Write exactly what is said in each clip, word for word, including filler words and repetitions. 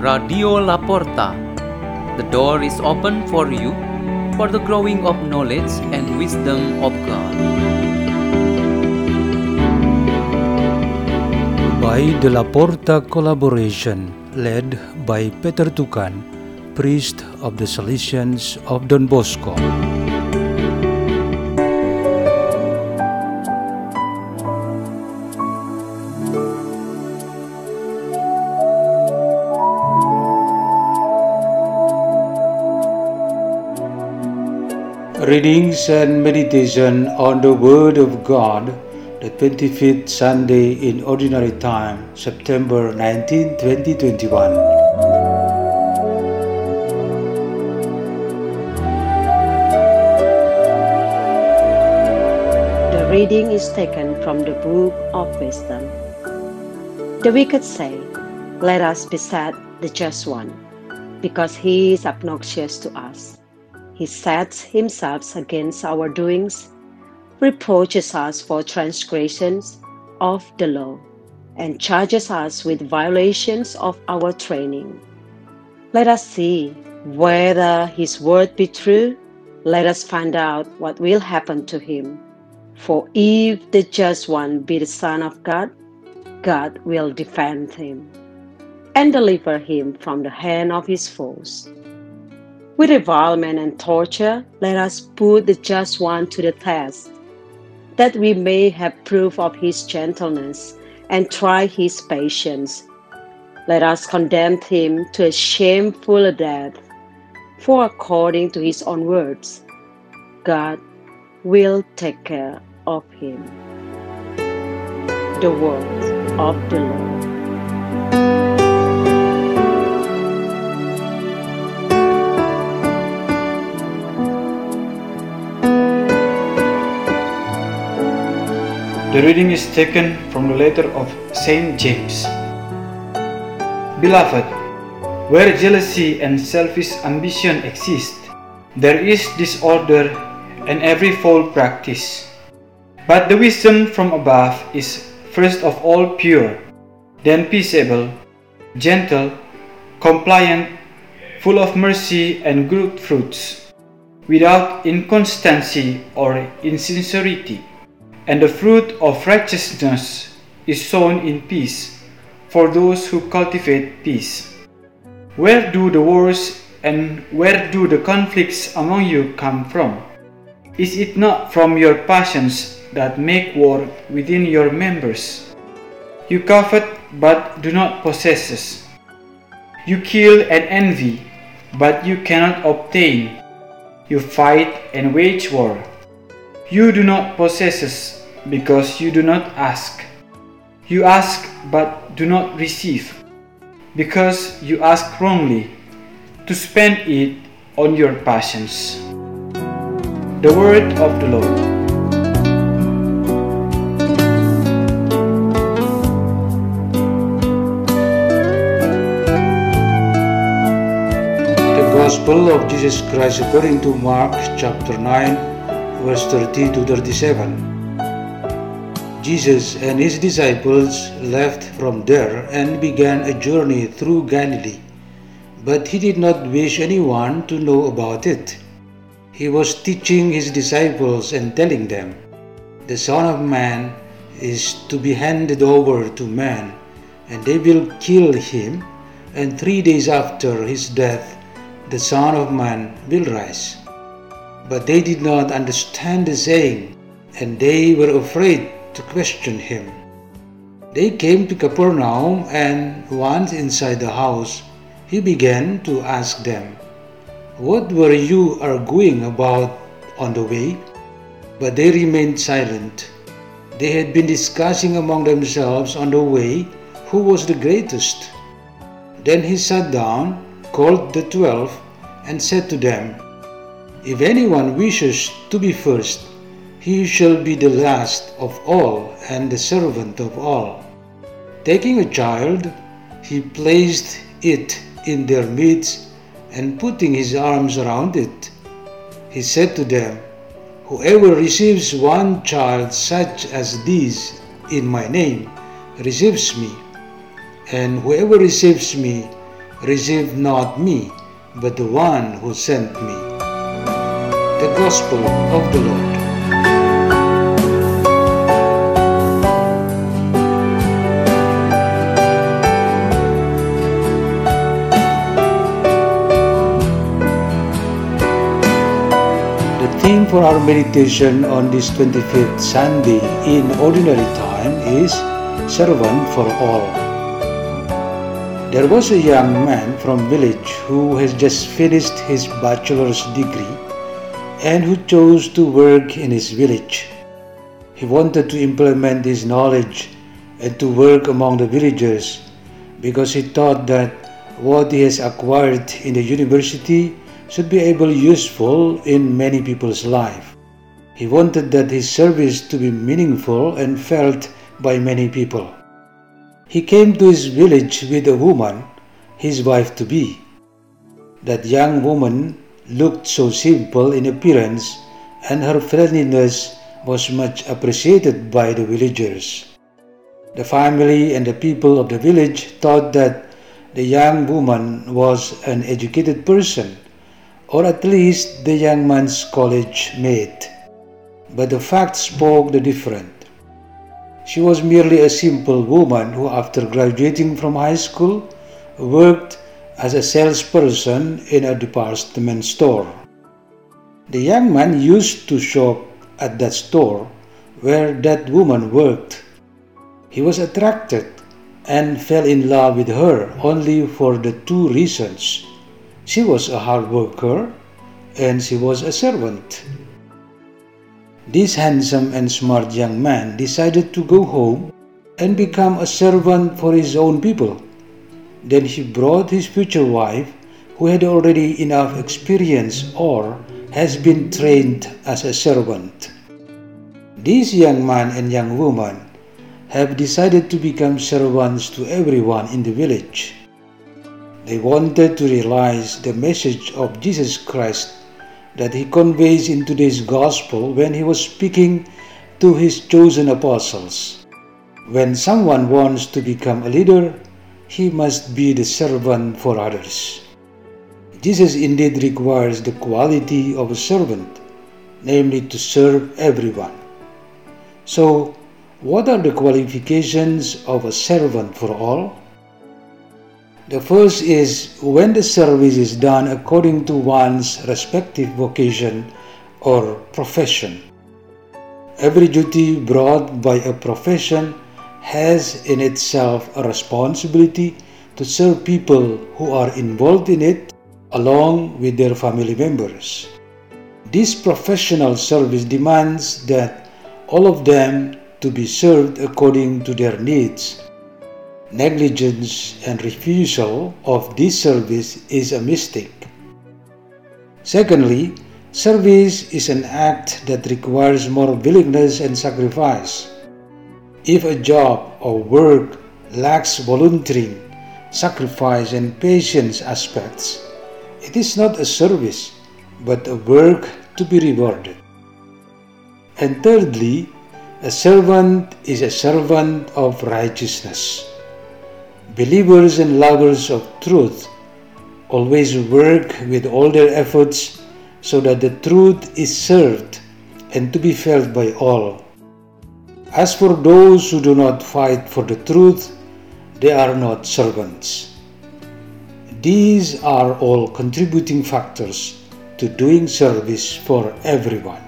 Radio Laporta. The door is open for you for the growing of knowledge and wisdom of God. By the Laporta collaboration, led by Peter Tukan, priest of the Salesians of Don Bosco. Readings and meditation on the Word of God, the twenty-fifth Sunday in Ordinary Time, September nineteenth, twenty twenty-one. The reading is taken from the Book of Wisdom. The wicked say, "Let us beset the just one, because he is obnoxious to us. He sets himself against our doings, reproaches us for transgressions of the law, and charges us with violations of our training. Let us see whether his word be true. Let us find out what will happen to him. For if the just one be the Son of God, God will defend him and deliver him from the hand of his foes. With revilement and torture, let us put the just one to the test, that we may have proof of his gentleness and try his patience. Let us condemn him to a shameful death, for according to his own words, God will take care of him." The word of the Lord. The reading is taken from the letter of Saint James. Beloved, where jealousy and selfish ambition exist, there is disorder and every foul practice. But the wisdom from above is first of all pure, then peaceable, gentle, compliant, full of mercy and good fruits, without inconstancy or insincerity. And the fruit of righteousness is sown in peace for those who cultivate peace. Where do the wars and where do the conflicts among you come from? Is it not from your passions that make war within your members? You covet but do not possess. You kill and envy, but you cannot obtain. You fight and wage war. You do not possess because you do not ask. You ask but do not receive, because you ask wrongly, to spend it on your passions. The word of the Lord. The Gospel of Jesus Christ according to Mark chapter nine, verse thirty to thirty-seven. Jesus and his disciples left from there and began a journey through Galilee, but he did not wish anyone to know about it. He was teaching his disciples and telling them, "The Son of Man is to be handed over to men, and they will kill him, and three days after his death, the Son of Man will rise." But they did not understand the saying, and they were afraid to question him. They came to Capernaum, and once inside the house, he began to ask them, "What were you arguing about on the way?" But they remained silent. They had been discussing among themselves on the way who was the greatest. Then he sat down, called the twelve, and said to them, "If anyone wishes to be first, he shall be the last of all and the servant of all." Taking a child, he placed it in their midst, and putting his arms around it, he said to them, "Whoever receives one child such as this in my name receives me, and whoever receives me receive not me, but the one who sent me. The Gospel of the Lord. The theme for our meditation on this twenty-fifth Sunday in Ordinary Time is Servant for All. There was a young man from village who has just finished his bachelor's degree and who chose to work in his village. He wanted to implement his knowledge and to work among the villagers because he thought that what he has acquired in the university should be able useful in many people's life. He wanted that his service to be meaningful and felt by many people. He came to his village with a woman, his wife-to-be. That young woman looked so simple in appearance, and her friendliness was much appreciated by the villagers. The family and the people of the village thought that the young woman was an educated person, or at least the young man's college mate. But the facts spoke the different. She was merely a simple woman who, after graduating from high school, worked as a salesperson in a department store. The young man used to shop at that store where that woman worked. He was attracted and fell in love with her only for the two reasons. She was a hard worker and she was a servant. This handsome and smart young man decided to go home and become a servant for his own people. Then he brought his future wife, who had already enough experience or has been trained as a servant. This young man and young woman have decided to become servants to everyone in the village. They wanted to realize the message of Jesus Christ that he conveys in today's gospel when he was speaking to his chosen apostles. When someone wants to become a leader, he must be the servant for others. Jesus indeed requires the quality of a servant, namely to serve everyone. So, what are the qualifications of a servant for all? The first is when the service is done according to one's respective vocation or profession. Every duty brought by a profession has in itself a responsibility to serve people who are involved in it along with their family members. This professional service demands that all of them to be served according to their needs. Negligence and refusal of this service is a mistake. Secondly, service is an act that requires more willingness and sacrifice. If a job or work lacks volunteering, sacrifice, and patience aspects, it is not a service, but a work to be rewarded. And thirdly, a servant is a servant of righteousness. Believers and lovers of truth always work with all their efforts so that the truth is served and to be felt by all. As for those who do not fight for the truth, they are not servants. These are all contributing factors to doing service for everyone.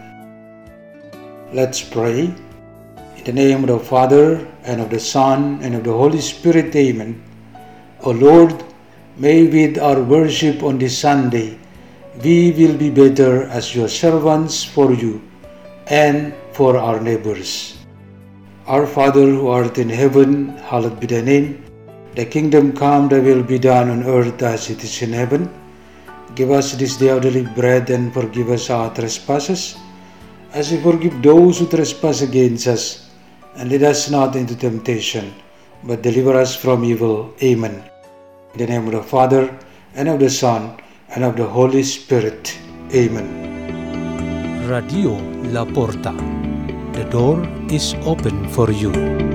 Let's pray. In the name of the Father, and of the Son, and of the Holy Spirit, Amen. O Lord, may with our worship on this Sunday, we will be better as your servants for you and for our neighbors. Our Father who art in heaven, hallowed be thy name. Thy kingdom come, thy will be done on earth as it is in heaven. Give us this day our daily bread, and forgive us our trespasses, as we forgive those who trespass against us. And lead us not into temptation, but deliver us from evil. Amen. In the name of the Father, and of the Son, and of the Holy Spirit. Amen. Radio La Porta. The door is open for you.